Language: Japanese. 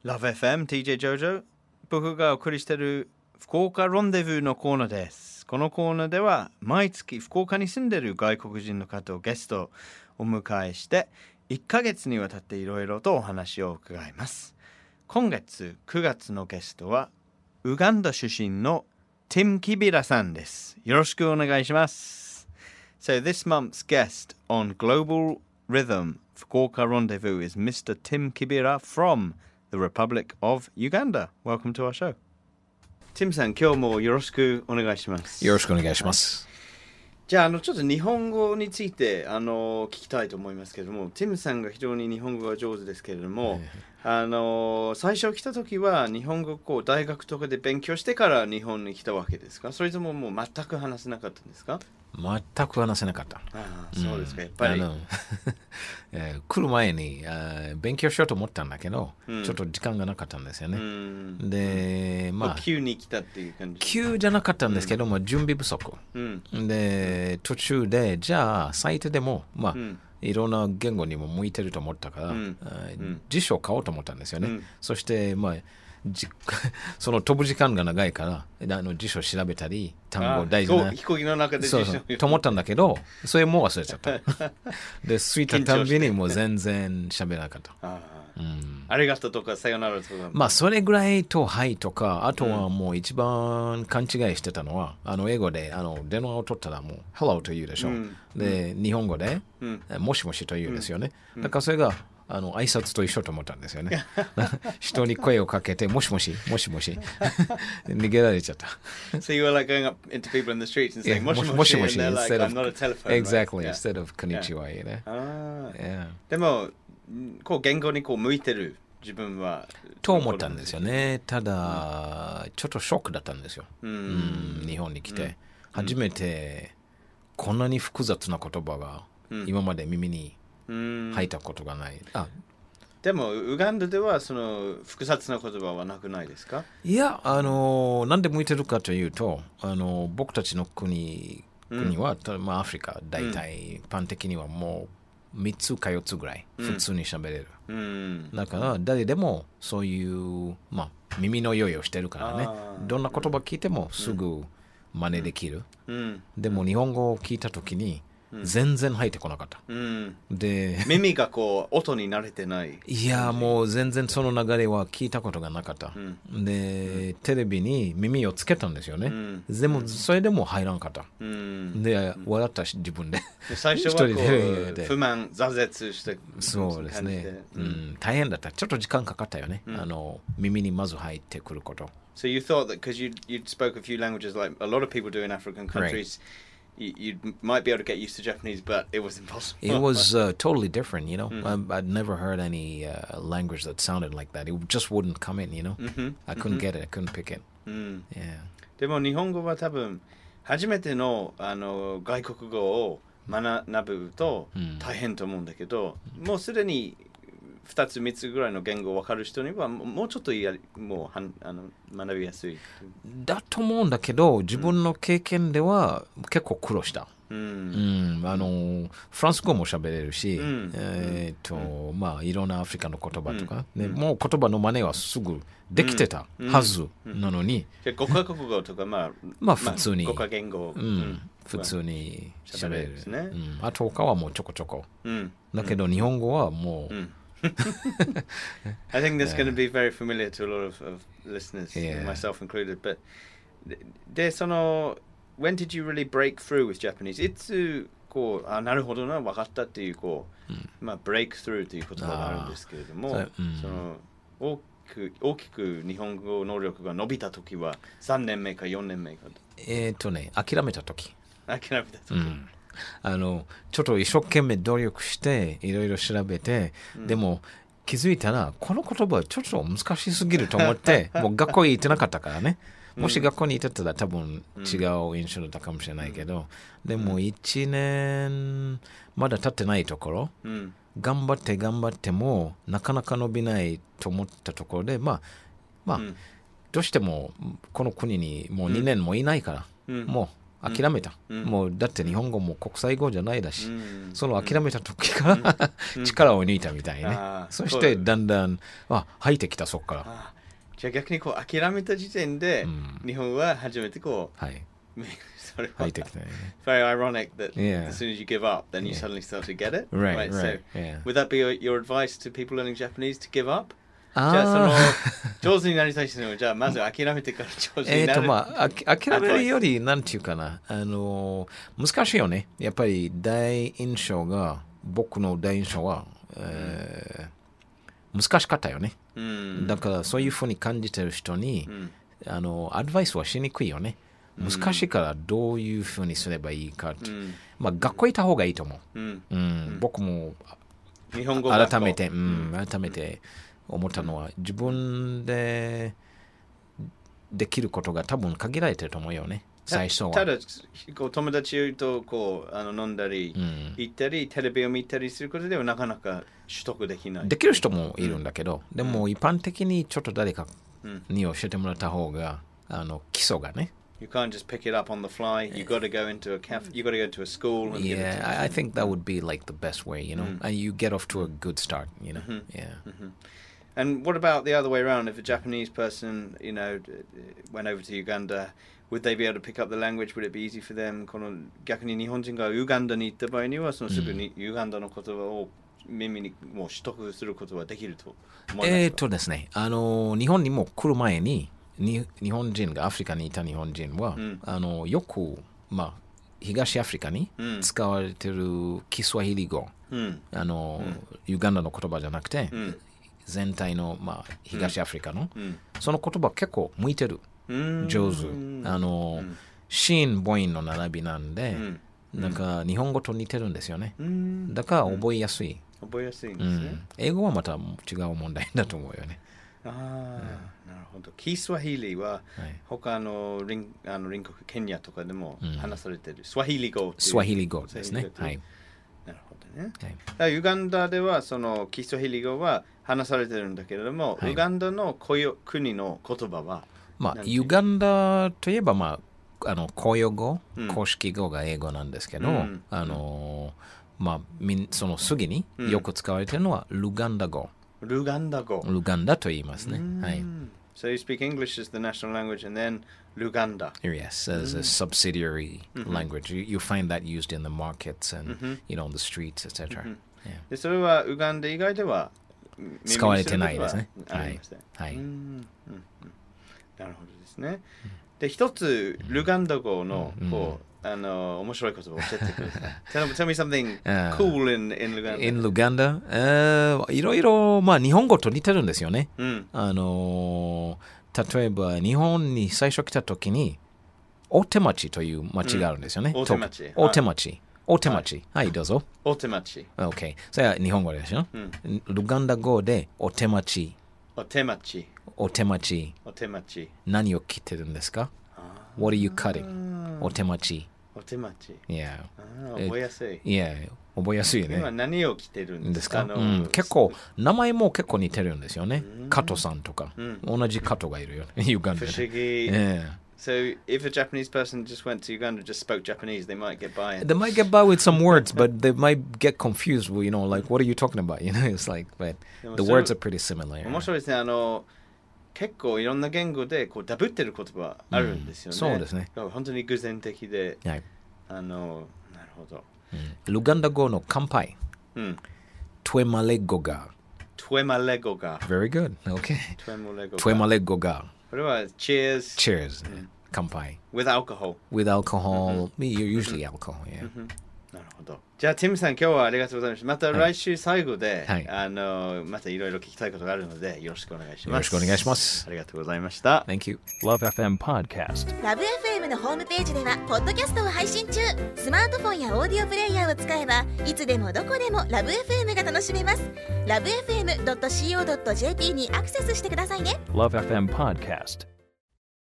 Love FM TJ ジョジョ、僕がお送りしている福岡ロンデブーのコーナーです。このコーナーでは毎月福岡に住んでいる外国人の方をゲストをお迎えして1ヶ月にわたっていろいろとお話を伺います。今月9月のゲストはウガンダ出身のティム・キビラさんです。よろしくお願いします。So this month's guest on Global Rhythm Fukuoka Rendezvous is Mr. Tim Kibira from the Republic of Uganda. Welcome to our show. Tim さん、今日もよろしくお願いします。 よろしくお願いします。 じゃあ、ちょっと日本語について聞きたいと思いますけれども、ティムさんが非常に日本語が上手ですけれども、最初来た時は日本語を大学とかで勉強してから日本に来たわけですか？それとももう全く話せなかったんですか？ 全く話せなかった。 そうですか、やっぱり。 来る前に勉強しようと思ったんだけど、ちょっと時間がなかったんですよね。で、 急に来たっていう感じ。 急じゃなかったんですけども、準備不足。で、途中で、じゃあ、サイトでも、いろんな言語にも向いてると思ったから、辞書を買おうと思ったんですよね。そして、その飛ぶ時間が長いから辞書を調べたり単語大事な飛行機の中で辞書と思ったんだけど、それもう忘れちゃったで着いたたんびにもう全然喋らなかった。 ありがとうとかさよならとか、 それぐらいとはいとか、あとはもう一番勘違いしてたのは、英語で電話を取ったらもう Hello と言うでしょ、で日本語で、もしもしと言うんですよね、だからそれが挨拶と一緒と思ったんですよね人に声をかけてもしもしもしもし逃げられちゃった。 So you were like going up into people in the streets and saying もしもし and they're like I'm not a telephone. Exactly, instead of こんにちは。 でも言語に向いてる自分はと思ったんですよね。ただちょっとショックだったんですよ。日本に来て初めてこんなに複雑な言葉が今まで耳に入ったことがない。 でもウガンダではその複雑な言葉はなくないですか？ いや、なんで向いてるかというと、僕たちの国は、アフリカ大体、一般的にはもう3つか4つぐらい普通に喋れる、だから誰でもそういう、耳の用意をしてるからね、どんな言葉聞いてもすぐ真似できる、でも日本語を聞いたときに全然入ってこなかった、で耳が音に慣れてない。 いや、もう全然その流れは聞いたことがなかった、でテレビに耳をつけたんですよね、でもそれでも入らんかった、で笑ったし自分で最初は不満挫折してそうですね、大変だった。ちょっと時間かかったよね、耳にまず入ってくること。 So you thought that because you spoke a few languages like a lot of people do in African countries、You might be able to get used to Japanese, but it was impossible. It was totally different, you know. I'd never heard any language that sounded like that. It just wouldn't come in, you know. I couldn't get it. I couldn't pick it. Yeah. でも日本語は多分初めての外国語を学ぶと大変と思うんだけど、もうすでに2つ3つぐらいの言語を分かる人にはもうちょっともう学びやすいだと思うんだけど、自分の経験では結構苦労した、フランス語も喋れるし、いろんなアフリカの言葉とか、もう言葉の真似はすぐできてたはずなのに、 5カ国語とか普通に 5カ言語、 普通に喋れるですね。 あと他はもうちょこちょこ、だけど日本語はもう、 I think that's going to be very familiar to a lot of listeners, myself included. But when did you really break through with Japanese? いつなるほどな、分かったっていうbreak through という言葉があるんですけれども、大きく日本語能力が伸びた時は3年目か4年目か。 諦めた時。ちょっと一生懸命努力していろいろ調べて、でも気づいたらこの言葉はちょっと難しすぎると思ってもう学校に行ってなかったからね。もし学校に行ってたら多分違う印象だったかもしれないけど、でも1年まだ経ってないところ、頑張ってもなかなか伸びないと思ったところで、どうしてもこの国にもう2年もいないから、もう諦めた、もうだって日本語も国際語じゃないだし、その諦めた時から、力を抜いたみたいね、そしてだんだん入ってきたそこから。 じゃあ逆にこう諦めた時点で、日本は初めてこう、それは入ってきたね。 Very ironic that as soon as you give up, then you suddenly start to get it. Right. So would that be your advice to people learning Japanese to give up?じゃあ上手になりたい人もじゃあまず諦めてから上手になる。 諦めるよりなんていうかな、難しいよね。やっぱり僕の第一印象は、難しかったよね。だからそういうふうに感じてる人に、アドバイスはしにくいよね。難しいからどういうふうにすればいいかって、学校行った方がいいと思う。僕も日本語改めて思ったのは、自分でできることが多分限られてると思うよね、最初は。 ただ友達と飲んだり、行ったりテレビを見たりすることではなかなか取得できない。 できる人もいるんだけど、でも一般的にちょっと誰かに教えてもらった方が、基礎がね。 You can't just pick it up on the fly. You got to go into a cafe. You got to go to a school. And I think that would be like the best way, and you get off to a good start, And what about the other way around? If a Japanese person, went over to Uganda, would they be able to pick up the language? Would it be easy for them? 逆に日本人がウガンダに行った場合には、すぐにウガンダの言葉を耳にもう取得することはできると思いますか？ ですね、日本にも来る前に日本人がアフリカにいた日本人は、よく東アフリカに使われているキスワヒリ語、ウガンダの言葉じゃなくて、全体の、東アフリカの、その言葉結構向いてる、上手、子音母音の並びなんで、なんか日本語と似てるんですよね。だから覚えやすい。 覚えやすいんですね。 英語はまた違う問題だと思うよね。 なるほど。キスワヒリは他の隣国ケニアとかでも話されてる、スワヒリ語ですね。はい。 なるほどね。ウガンダではそのキスワヒリ語は話されてるんだけれども、ウガンダの国の言葉は、 ウガンダといえば公用語、公式語が英語なんですけど、その次によく使われているのはルガンダ語。ルガンダと言いますね。はい。 So you speak English as the national language and then Luganda. Yes, as a subsidiary language. You find that used in the markets and on the streets, etc. でそれはウガンダ以外では使われてないですね。 はい。なるほどですね。で一つルガンダ語の面白い言葉を教えてください。Tell me something cool in Luganda. In Luganda? いろいろ、日本語と似てるんですよね。例えば、日本に最初来た時に、大手町という町があるんですよね。大手町。はい、どうぞ。 大手町。 OK。それは日本語でしょ。ルガンダ語で、大手町。何を切ってるんですか？ What are you cutting? お手町。 Yeah. 覚えやすい。 覚えやすいよね。 今何を着てるんですか？ 結構、名前も結構似てるんですよね。加藤さんとか。同じ加藤がいるよね。ユガンダで。 不思議。So if a Japanese person just went to Uganda, just spoke Japanese, they might get by. They might get by with some words, but they might get confused. Like, what are you talking about? It's like, but the words are pretty similar. 面白いですね。結構いろんな言語でダブってる言葉あるんですよね。 そうですね。 本当に偶然的で。なるほど。 ルガンダ語の乾杯。トゥエマレゴガ。Very good. Okay. トゥエマレゴガ。 これは cheers. 乾杯。 With alcohol. You're usually alcohol. なるほど。じゃあティムさん今日はありがとうございました。また来週最後で、またいろいろ聞きたいことがあるのでよろしくお願いします。 よろしくお願いします。 ありがとうございました。 Thank you. Love FM Podcast。 ラブ FM のホームページではポッドキャストを配信中。スマートフォンやオーディオプレイヤーを使えばいつでもどこでもラブ FM が楽しめます。ラブ FM.co.jp にアクセスしてくださいね。 Love FM Podcast。